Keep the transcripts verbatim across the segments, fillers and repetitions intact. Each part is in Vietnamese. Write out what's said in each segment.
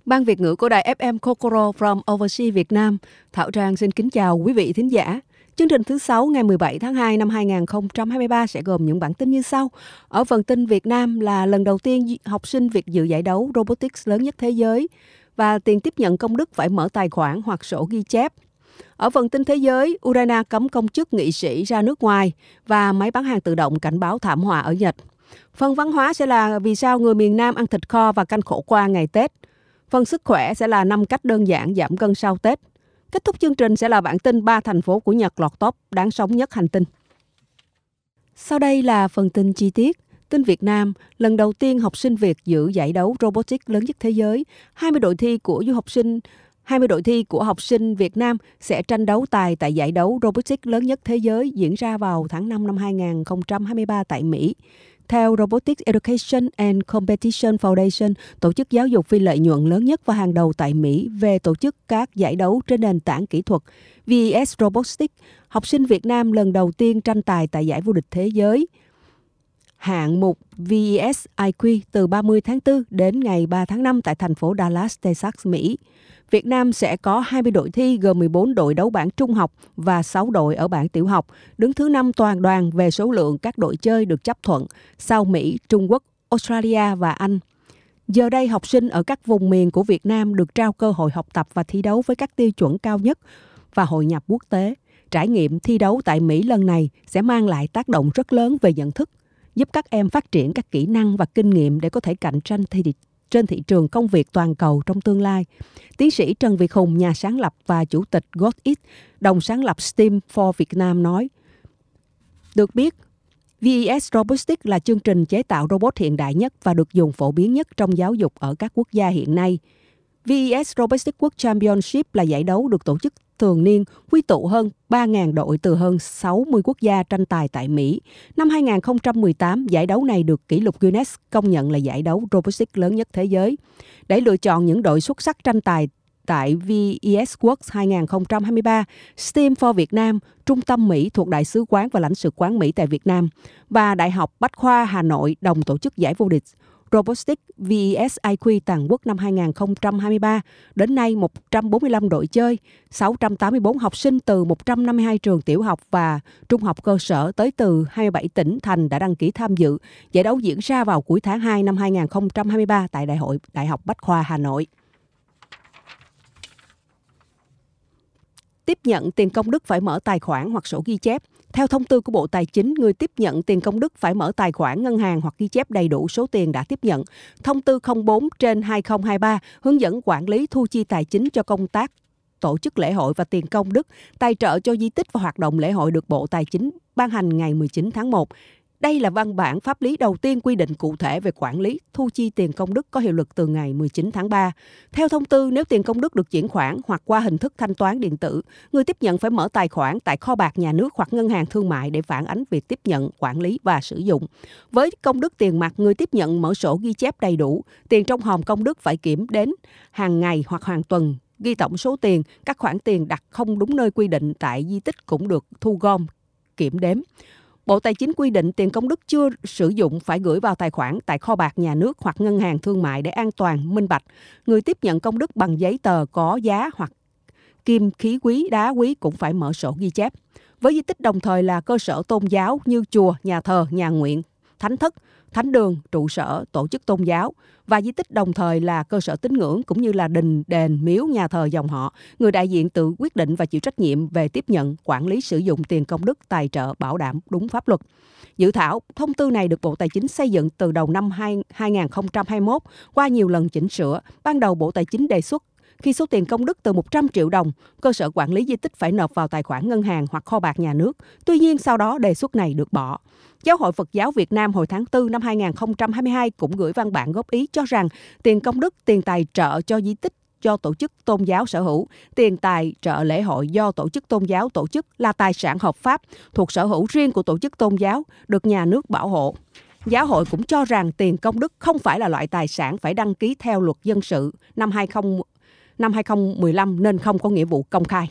Ban Việt ngữ của đài ép em Kokoro from Overseas Việt Nam, Thảo Trang xin kính chào quý vị thính giả. Chương trình thứ sáu ngày mười bảy tháng hai năm hai nghìn không trăm hai mươi ba sẽ gồm những bản tin như sau. Ở phần tin Việt Nam là lần đầu tiên học sinh Việt dự giải đấu robotics lớn nhất thế giới và tiền tiếp nhận công đức phải mở tài khoản hoặc sổ ghi chép. Ở phần tin thế giới, Ukraine cấm công chức nghị sĩ ra nước ngoài và máy bán hàng tự động cảnh báo thảm họa ở Nhật. Phần văn hóa sẽ là vì sao người miền Nam ăn thịt kho và canh khổ qua ngày Tết. Phần sức khỏe sẽ là năm cách đơn giản giảm cân sau Tết. Kết thúc chương trình sẽ là bản tin ba thành phố của Nhật lọt top đáng sống nhất hành tinh. Sau đây là phần tin chi tiết. Tin Việt Nam, lần đầu tiên học sinh Việt dự giải đấu robotics lớn nhất thế giới. hai mươi đội thi của du học sinh hai mươi đội thi của học sinh Việt Nam sẽ tranh đấu tài tại giải đấu robotics lớn nhất thế giới diễn ra vào tháng năm năm hai nghìn không trăm hai mươi ba tại Mỹ. Theo Robotics Education and Competition Foundation, tổ chức giáo dục phi lợi nhuận lớn nhất và hàng đầu tại Mỹ về tổ chức các giải đấu trên nền tảng kỹ thuật vê e ét Robotics, học sinh Việt Nam lần đầu tiên tranh tài tại giải vô địch thế giới hạng mục vê e ét i quy từ ba mươi tháng tư đến ngày ba tháng năm tại thành phố Dallas, Texas, Mỹ. Việt Nam sẽ có hai mươi đội thi gồm mười bốn đội đấu bảng trung học và sáu đội ở bảng tiểu học, đứng thứ năm toàn đoàn về số lượng các đội chơi được chấp thuận, sau Mỹ, Trung Quốc, Australia và Anh. Giờ đây, học sinh ở các vùng miền của Việt Nam được trao cơ hội học tập và thi đấu với các tiêu chuẩn cao nhất và hội nhập quốc tế. Trải nghiệm thi đấu tại Mỹ lần này sẽ mang lại tác động rất lớn về nhận thức, giúp các em phát triển các kỹ năng và kinh nghiệm để có thể cạnh tranh thi trên thị trường công việc toàn cầu trong tương lai. Tiến sĩ Trần Việt Hùng, nhà sáng lập và chủ tịch GodIt, đồng sáng lập STEAM for Việt Nam nói, được biết, vê e ét Robotics là chương trình chế tạo robot hiện đại nhất và được dùng phổ biến nhất trong giáo dục ở các quốc gia hiện nay. vê e ét Robotics World Championship là giải đấu được tổ chức thường niên, quy tụ hơn ba nghìn đội từ hơn sáu mươi quốc gia tranh tài tại Mỹ. Năm hai nghìn không trăm mười tám, giải đấu này được kỷ lục Guinness công nhận là giải đấu robotics lớn nhất thế giới. Để lựa chọn những đội xuất sắc tranh tài tại vê e ét World hai nghìn không trăm hai mươi ba, STEAM for Việt Nam, Trung tâm Mỹ thuộc Đại sứ quán và lãnh sự quán Mỹ tại Việt Nam và Đại học Bách khoa Hà Nội đồng tổ chức giải vô địch Robotics vê e ét i quy toàn quốc năm hai nghìn không trăm hai mươi ba. Đến nay, một trăm bốn mươi lăm đội chơi, sáu trăm tám mươi tư học sinh từ một trăm năm mươi hai trường tiểu học và trung học cơ sở tới từ hai mươi bảy tỉnh thành đã đăng ký tham dự. Giải đấu diễn ra vào cuối tháng hai năm hai nghìn không trăm hai mươi ba tại Đại hội Đại học Bách khoa Hà Nội. Tiếp nhận tiền công đức phải mở tài khoản hoặc sổ ghi chép. Theo thông tư của Bộ Tài chính, người tiếp nhận tiền công đức phải mở tài khoản ngân hàng hoặc ghi chép đầy đủ số tiền đã tiếp nhận. Thông tư không bốn trên hai nghìn không trăm hai mươi ba hướng dẫn quản lý thu chi tài chính cho công tác tổ chức lễ hội và tiền công đức, tài trợ cho di tích và hoạt động lễ hội được Bộ Tài chính ban hành ngày mười chín tháng một. Đây là văn bản pháp lý đầu tiên quy định cụ thể về quản lý thu chi tiền công đức có hiệu lực từ ngày mười chín tháng ba. Theo thông tư, nếu tiền công đức được chuyển khoản hoặc qua hình thức thanh toán điện tử, người tiếp nhận phải mở tài khoản tại kho bạc nhà nước hoặc ngân hàng thương mại để phản ánh việc tiếp nhận, quản lý và sử dụng. Với công đức tiền mặt, người tiếp nhận mở sổ ghi chép đầy đủ, tiền trong hòm công đức phải kiểm đếm hàng ngày hoặc hàng tuần, ghi tổng số tiền, các khoản tiền đặt không đúng nơi quy định tại di tích cũng được thu gom, kiểm đếm. Bộ Tài chính quy định tiền công đức chưa sử dụng phải gửi vào tài khoản tại kho bạc nhà nước hoặc ngân hàng thương mại để an toàn, minh bạch. Người tiếp nhận công đức bằng giấy tờ có giá hoặc kim khí quý, đá quý cũng phải mở sổ ghi chép. Với di tích đồng thời là cơ sở tôn giáo như chùa, nhà thờ, nhà nguyện, thánh thất, thánh đường, trụ sở, tổ chức tôn giáo và di tích đồng thời là cơ sở tín ngưỡng cũng như là đình, đền, miếu, nhà thờ dòng họ. Người đại diện tự quyết định và chịu trách nhiệm về tiếp nhận, quản lý sử dụng tiền công đức tài trợ bảo đảm đúng pháp luật. Dự thảo thông tư này được Bộ Tài chính xây dựng từ đầu năm hai nghìn không trăm hai mươi mốt qua nhiều lần chỉnh sửa. Ban đầu Bộ Tài chính đề xuất khi số tiền công đức từ một trăm triệu đồng, cơ sở quản lý di tích phải nộp vào tài khoản ngân hàng hoặc kho bạc nhà nước. Tuy nhiên, sau đó đề xuất này được bỏ. Giáo hội Phật giáo Việt Nam hồi tháng tư năm hai nghìn không trăm hai mươi hai cũng gửi văn bản góp ý cho rằng tiền công đức, tiền tài trợ cho di tích do tổ chức tôn giáo sở hữu, tiền tài trợ lễ hội do tổ chức tôn giáo tổ chức là tài sản hợp pháp thuộc sở hữu riêng của tổ chức tôn giáo, được nhà nước bảo hộ. Giáo hội cũng cho rằng tiền công đức không phải là loại tài sản phải đăng ký theo luật dân sự năm hai nghìn không trăm mười lăm nên không có nghĩa vụ công khai.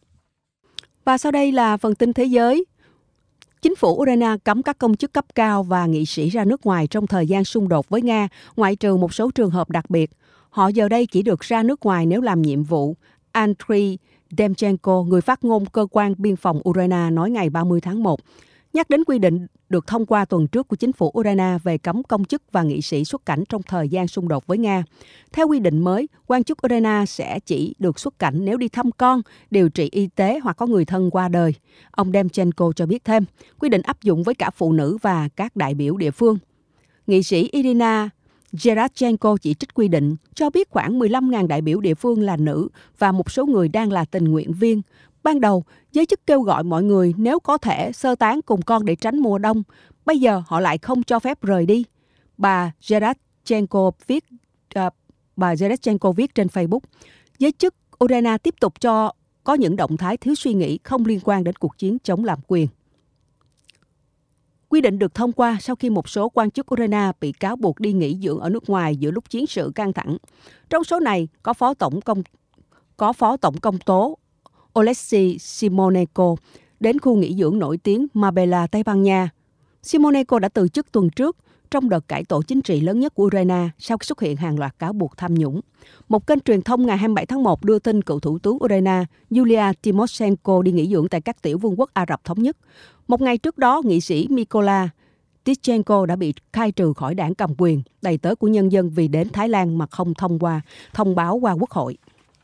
Và sau đây là phần tin thế giới. Chính phủ Ukraine cấm các công chức cấp cao và nghị sĩ ra nước ngoài trong thời gian xung đột với Nga, ngoại trừ một số trường hợp đặc biệt. Họ giờ đây chỉ được ra nước ngoài nếu làm nhiệm vụ, Andriy Demchenko, người phát ngôn cơ quan biên phòng Ukraine, nói ngày ba mươi tháng một, nhắc đến quy định được thông qua tuần trước của chính phủ Ukraine về cấm công chức và nghị sĩ xuất cảnh trong thời gian xung đột với Nga. Theo quy định mới, quan chức Ukraine sẽ chỉ được xuất cảnh nếu đi thăm con, điều trị y tế hoặc có người thân qua đời. Ông Demchenko cho biết thêm, quy định áp dụng với cả phụ nữ và các đại biểu địa phương. Nghị sĩ Irina Gerashchenko chỉ trích quy định, cho biết khoảng mười lăm nghìn đại biểu địa phương là nữ và một số người đang là tình nguyện viên. Ban đầu, giới chức kêu gọi mọi người nếu có thể sơ tán cùng con để tránh mùa đông. Bây giờ họ lại không cho phép rời đi. Bà Gerashchenko viết, uh, bà Gerashchenko viết trên Facebook, giới chức Ukraine tiếp tục cho có những động thái thiếu suy nghĩ không liên quan đến cuộc chiến chống lạm quyền. Quy định được thông qua sau khi một số quan chức Ukraine bị cáo buộc đi nghỉ dưỡng ở nước ngoài giữa lúc chiến sự căng thẳng. Trong số này có phó tổng công có phó tổng công tố Oleksiy Simonenko đến khu nghỉ dưỡng nổi tiếng Marbella, Tây Ban Nha. Simonenko đã từ chức tuần trước trong đợt cải tổ chính trị lớn nhất của Ukraine sau khi xuất hiện hàng loạt cáo buộc tham nhũng. Một kênh truyền thông ngày hai mươi bảy tháng một đưa tin cựu thủ tướng Ukraine Yulia Tymoshenko đi nghỉ dưỡng tại các tiểu vương quốc Ả Rập Thống Nhất. Một ngày trước đó, nghị sĩ Mykola Tishchenko đã bị khai trừ khỏi đảng cầm quyền, đầy tớ của nhân dân vì đến Thái Lan mà không thông qua thông báo qua quốc hội.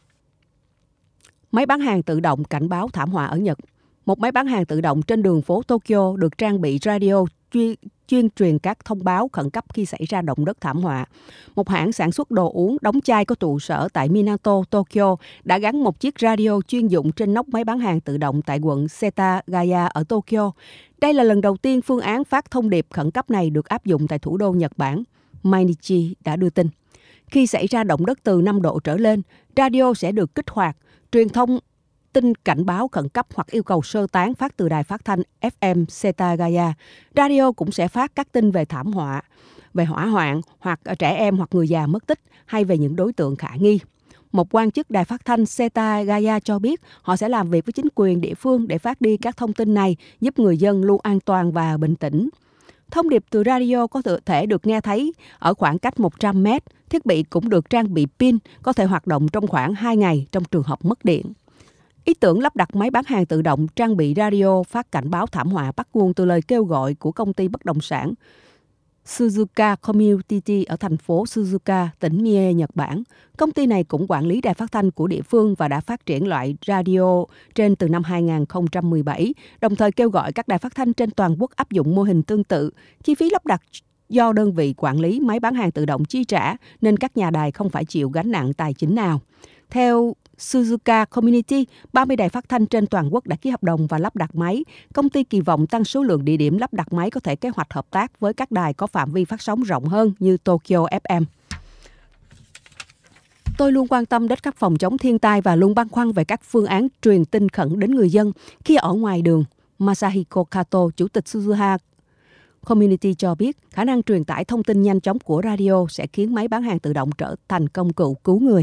Máy bán hàng tự động cảnh báo thảm họa ở Nhật. Một máy bán hàng tự động trên đường phố Tokyo được trang bị radio chuyên, chuyên truyền các thông báo khẩn cấp khi xảy ra động đất thảm họa. Một hãng sản xuất đồ uống đóng chai có trụ sở tại Minato, Tokyo đã gắn một chiếc radio chuyên dụng trên nóc máy bán hàng tự động tại quận Setagaya ở Tokyo. Đây là lần đầu tiên phương án phát thông điệp khẩn cấp này được áp dụng tại thủ đô Nhật Bản, Mainichi đã đưa tin. Khi xảy ra động đất từ năm độ trở lên, radio sẽ được kích hoạt, truyền thông tin cảnh báo khẩn cấp hoặc yêu cầu sơ tán phát từ đài phát thanh ép em Setagaya. Radio cũng sẽ phát các tin về thảm họa, về hỏa hoạn hoặc trẻ em hoặc người già mất tích hay về những đối tượng khả nghi. Một quan chức đài phát thanh Setagaya cho biết họ sẽ làm việc với chính quyền địa phương để phát đi các thông tin này, giúp người dân luôn an toàn và bình tĩnh. Thông điệp từ radio có thể được nghe thấy ở khoảng cách một trăm mét. Thiết bị cũng được trang bị pin, có thể hoạt động trong khoảng hai ngày trong trường hợp mất điện. Ý tưởng lắp đặt máy bán hàng tự động trang bị radio phát cảnh báo thảm họa bắt nguồn từ lời kêu gọi của công ty bất động sản Suzuka Community ở thành phố Suzuka, tỉnh Mie, Nhật Bản. Công ty này cũng quản lý đài phát thanh của địa phương và đã phát triển loại radio trên từ năm hai không một bảy, đồng thời kêu gọi các đài phát thanh trên toàn quốc áp dụng mô hình tương tự. Chi phí lắp đặt do đơn vị quản lý máy bán hàng tự động chi trả, nên các nhà đài không phải chịu gánh nặng tài chính nào. Theo Suzuka Community, ba mươi đài phát thanh trên toàn quốc đã ký hợp đồng và lắp đặt máy. Công ty kỳ vọng tăng số lượng địa điểm lắp đặt máy, có thể kế hoạch hợp tác với các đài có phạm vi phát sóng rộng hơn như Tokyo ép em. Tôi luôn quan tâm đến các phòng chống thiên tai và luôn băn khoăn về các phương án truyền tin khẩn đến người dân khi ở ngoài đường. Masahiko Kato, chủ tịch Suzuha Community cho biết khả năng truyền tải thông tin nhanh chóng của radio sẽ khiến máy bán hàng tự động trở thành công cụ cứu người.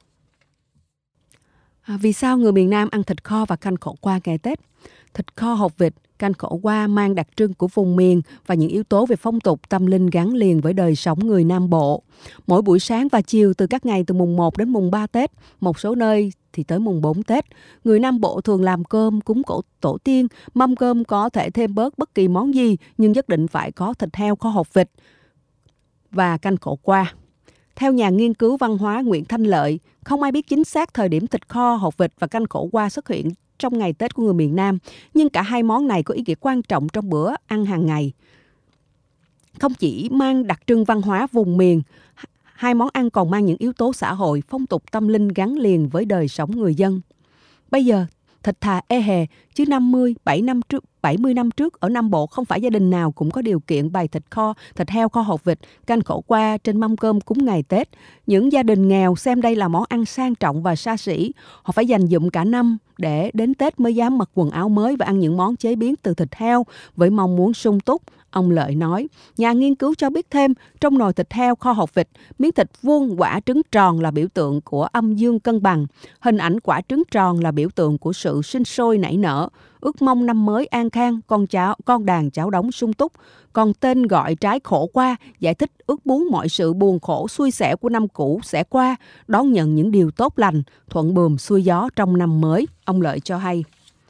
À, vì sao người miền Nam ăn thịt kho và canh khổ qua ngày Tết? Thịt kho hột vịt, canh khổ qua mang đặc trưng của vùng miền và những yếu tố về phong tục tâm linh gắn liền với đời sống người Nam Bộ. Mỗi buổi sáng và chiều từ các ngày từ mùng một đến mùng ba Tết, một số nơi thì tới mùng bốn Tết, người Nam Bộ thường làm cơm cúng cổ tổ tiên. Mâm cơm có thể thêm bớt bất kỳ món gì, nhưng nhất định phải có thịt heo kho hột vịt và canh khổ qua. Theo nhà nghiên cứu văn hóa Nguyễn Thanh Lợi, không ai biết chính xác thời điểm thịt kho, hột vịt và canh khổ qua xuất hiện trong ngày Tết của người miền Nam, nhưng cả hai món này có ý nghĩa quan trọng trong bữa ăn hàng ngày. Không chỉ mang đặc trưng văn hóa vùng miền, hai món ăn còn mang những yếu tố xã hội, phong tục tâm linh gắn liền với đời sống người dân. Bây giờ, thịt thà ê hề, chứ năm mươi, bảy năm trước, bảy mươi năm trước ở Nam Bộ không phải gia đình nào cũng có điều kiện bày thịt kho, thịt heo kho hột vịt, canh khổ qua trên mâm cơm cúng ngày Tết. Những gia đình nghèo xem đây là món ăn sang trọng và xa xỉ. Họ phải dành dụm cả năm để đến Tết mới dám mặc quần áo mới và ăn những món chế biến từ thịt heo với mong muốn sung túc. Ông Lợi nói, nhà nghiên cứu cho biết thêm, trong nồi thịt heo kho hột vịt, miếng thịt vuông quả trứng tròn là biểu tượng của âm dương cân bằng. Hình ảnh quả trứng tròn là biểu tượng của sự sinh sôi nảy nở. ước mong năm mới an khang, con cháu, con đàn cháu đống sung túc. Còn tên gọi trái khổ qua giải thích ước muốn mọi sự buồn khổ xui xẻo của năm cũ sẽ qua, đón nhận những điều tốt lành, thuận buồm xuôi gió trong năm mới, ông Lợi cho hay.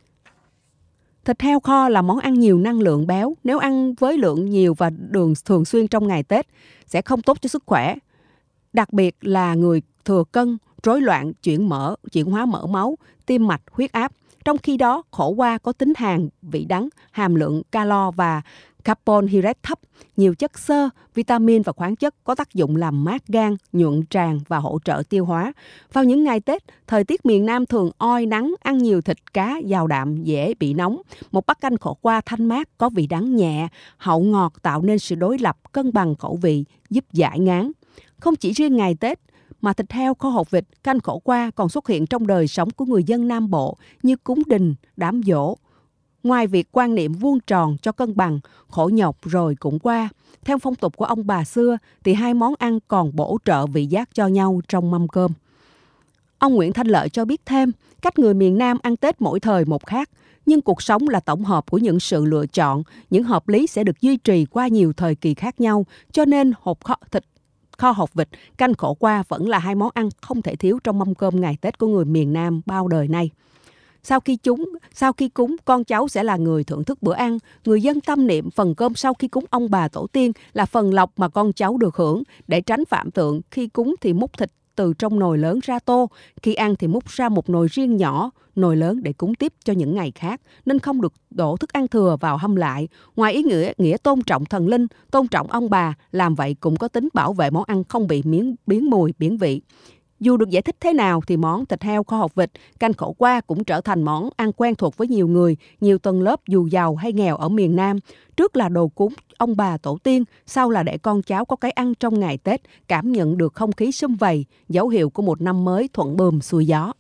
Thịt heo kho là món ăn nhiều năng lượng béo. Nếu ăn với lượng nhiều và đường thường xuyên trong ngày Tết sẽ không tốt cho sức khỏe. Đặc biệt là người thừa cân, rối loạn chuyển mỡ, chuyển hóa mỡ máu, tim mạch, huyết áp. Trong khi đó, khổ qua có tính hàn, vị đắng, hàm lượng calo và carbohydrate thấp, nhiều chất xơ, vitamin và khoáng chất có tác dụng làm mát gan, nhuận tràng và hỗ trợ tiêu hóa. Vào những ngày Tết, thời tiết miền Nam thường oi nắng, ăn nhiều thịt cá, giàu đạm, dễ bị nóng. Một bát canh khổ qua thanh mát, có vị đắng nhẹ, hậu ngọt tạo nên sự đối lập, cân bằng khẩu vị, giúp giải ngán. Không chỉ riêng ngày Tết, mà thịt heo kho hột vịt, canh khổ qua còn xuất hiện trong đời sống của người dân Nam Bộ như cúng đình, đám giỗ. Ngoài việc quan niệm vuông tròn cho cân bằng, khổ nhọc rồi cũng qua, theo phong tục của ông bà xưa thì hai món ăn còn bổ trợ vị giác cho nhau trong mâm cơm. Ông Nguyễn Thanh Lợi cho biết thêm, cách người miền Nam ăn Tết mỗi thời một khác, nhưng cuộc sống là tổng hợp của những sự lựa chọn, những hợp lý sẽ được duy trì qua nhiều thời kỳ khác nhau, cho nên hột kho, thịt kho hột vịt, canh khổ qua vẫn là hai món ăn không thể thiếu trong mâm cơm ngày Tết của người miền Nam bao đời nay. Sau khi chúng, sau khi cúng, con cháu sẽ là người thưởng thức bữa ăn. Người dân tâm niệm phần cơm sau khi cúng ông bà tổ tiên là phần lộc mà con cháu được hưởng. Để tránh phạm tượng, khi cúng thì múc thịt từ trong nồi lớn ra tô. Khi ăn thì múc ra một nồi riêng nhỏ, nồi lớn để cúng tiếp cho những ngày khác, nên không được đổ thức ăn thừa vào hâm lại. Ngoài ý nghĩa, nghĩa tôn trọng thần linh, tôn trọng ông bà, làm vậy cũng có tính bảo vệ món ăn không bị biến, biến mùi, biến vị. Dù được giải thích thế nào thì món thịt heo kho hột vịt, canh khổ qua cũng trở thành món ăn quen thuộc với nhiều người, nhiều tầng lớp dù giàu hay nghèo ở miền Nam. Trước là đồ cúng ông bà tổ tiên, sau là để con cháu có cái ăn trong ngày Tết, cảm nhận được không khí sum vầy, dấu hiệu của một năm mới thuận buồm xuôi gió.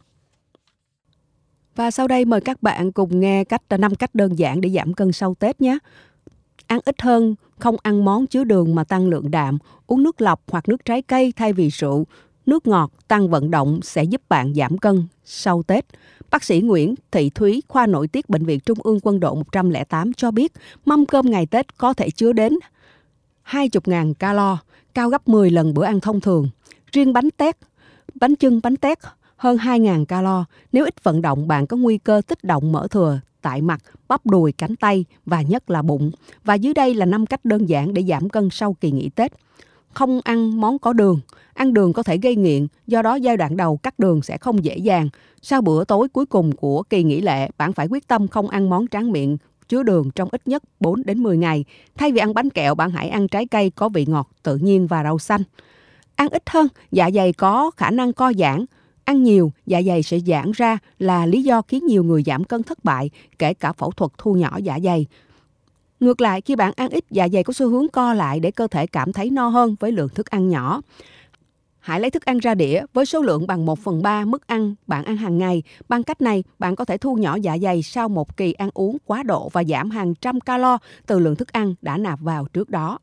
Và sau đây mời các bạn cùng nghe cách năm cách đơn giản để giảm cân sau Tết nhé. Ăn ít hơn, không ăn món chứa đường mà tăng lượng đạm, uống nước lọc hoặc nước trái cây thay vì rượu. Nước ngọt, tăng vận động sẽ giúp bạn giảm cân sau Tết. Bác sĩ Nguyễn Thị Thúy, khoa nội tiết Bệnh viện Trung ương Quân đội một không tám cho biết mâm cơm ngày Tết có thể chứa đến hai mươi nghìn calo, cao gấp mười lần bữa ăn thông thường. Riêng bánh tét, bánh chưng bánh tét hơn hai nghìn calo. Nếu ít vận động, bạn có nguy cơ tích động mỡ thừa tại mặt, bắp đùi, cánh tay và nhất là bụng. Và dưới đây là năm cách đơn giản để giảm cân sau kỳ nghỉ Tết. Không ăn món có đường. Ăn đường có thể gây nghiện, do đó giai đoạn đầu cắt đường sẽ không dễ dàng. Sau bữa tối cuối cùng của kỳ nghỉ lễ, bạn phải quyết tâm không ăn món tráng miệng chứa đường trong ít nhất bốn đến mười ngày. Thay vì ăn bánh kẹo, bạn hãy ăn trái cây có vị ngọt tự nhiên và rau xanh. Ăn ít hơn, dạ dày có khả năng co giãn. Ăn nhiều, dạ dày sẽ giãn ra là lý do khiến nhiều người giảm cân thất bại, kể cả phẫu thuật thu nhỏ dạ dày. Ngược lại, khi bạn ăn ít, dạ dày có xu hướng co lại để cơ thể cảm thấy no hơn với lượng thức ăn nhỏ. Hãy lấy thức ăn ra đĩa với số lượng bằng một phần ba mức ăn bạn ăn hàng ngày. Bằng cách này, bạn có thể thu nhỏ dạ dày sau một kỳ ăn uống quá độ và giảm hàng trăm calo từ lượng thức ăn đã nạp vào trước đó.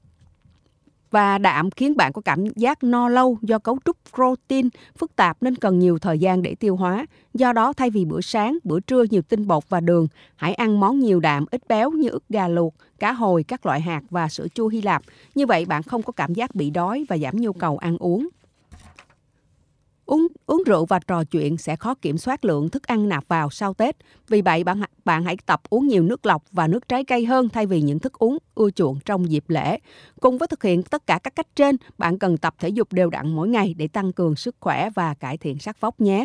Và đạm khiến bạn có cảm giác no lâu do cấu trúc protein phức tạp nên cần nhiều thời gian để tiêu hóa. Do đó, thay vì bữa sáng, bữa trưa nhiều tinh bột và đường, hãy ăn món nhiều đạm, ít béo như ức gà luộc, cá hồi, các loại hạt và sữa chua Hy Lạp. Như vậy, bạn không có cảm giác bị đói và giảm nhu cầu ăn uống. Uống, uống rượu và trò chuyện sẽ khó kiểm soát lượng thức ăn nạp vào sau Tết. Vì vậy, bạn, bạn hãy tập uống nhiều nước lọc và nước trái cây hơn thay vì những thức uống ưa chuộng trong dịp lễ. Cùng với thực hiện tất cả các cách trên, bạn cần tập thể dục đều đặn mỗi ngày để tăng cường sức khỏe và cải thiện sắc vóc nhé.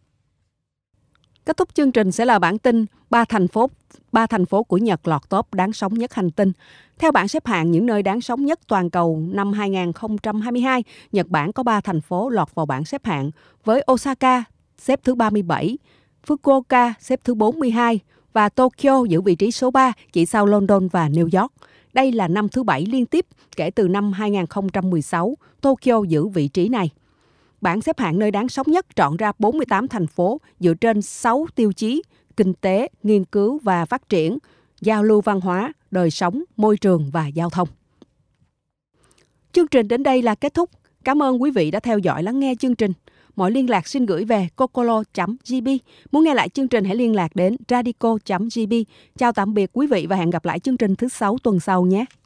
Kết thúc chương trình sẽ là bản tin ba thành phố ba thành phố của Nhật lọt top đáng sống nhất hành tinh. Theo bảng xếp hạng những nơi đáng sống nhất toàn cầu năm hai không hai hai, Nhật Bản có ba thành phố lọt vào bảng xếp hạng, với Osaka xếp thứ ba mươi bảy, Fukuoka xếp thứ bốn mươi hai và Tokyo giữ vị trí số ba, chỉ sau London và New York. Đây là năm thứ bảy liên tiếp kể từ năm hai không một sáu, Tokyo giữ vị trí này. Bảng xếp hạng nơi đáng sống nhất chọn ra bốn mươi tám thành phố dựa trên sáu tiêu chí: kinh tế, nghiên cứu và phát triển, giao lưu văn hóa, đời sống, môi trường và giao thông. Chương trình đến đây là kết thúc. Cảm ơn quý vị đã theo dõi lắng nghe chương trình. Mọi liên lạc xin gửi về kokolo chấm g b. Muốn nghe lại chương trình hãy liên lạc đến radico chấm g b. Chào tạm biệt quý vị và hẹn gặp lại chương trình thứ sáu tuần sau nhé.